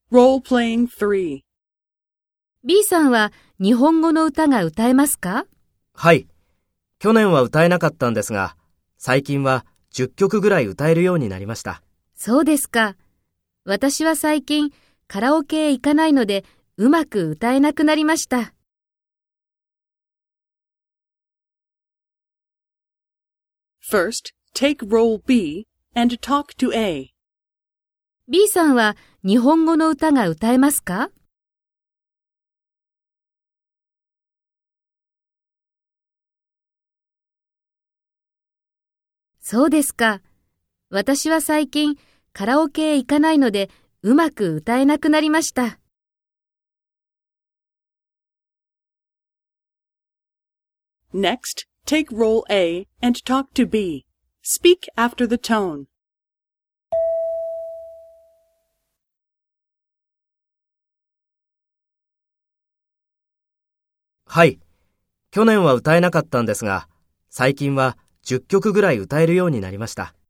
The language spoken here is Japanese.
Role-playing 3. B さんは日本語の歌が歌えますか？ はい。去年は歌えなかったんですが、最近は10曲ぐらい歌えるようになりました。 そうですか。私は最近カラオケへ行かないのでうまく歌えなくなりました。 First, take role B and talk to A. B さんは日本語の歌が歌えますか？そうですか。私は最近カラオケへ行かないのでうまく歌えなくなりました。 Next, take role A and talk to B. Speak after the tone. はい。去年は歌えなかったんですが、最近は10曲ぐらい歌えるようになりました。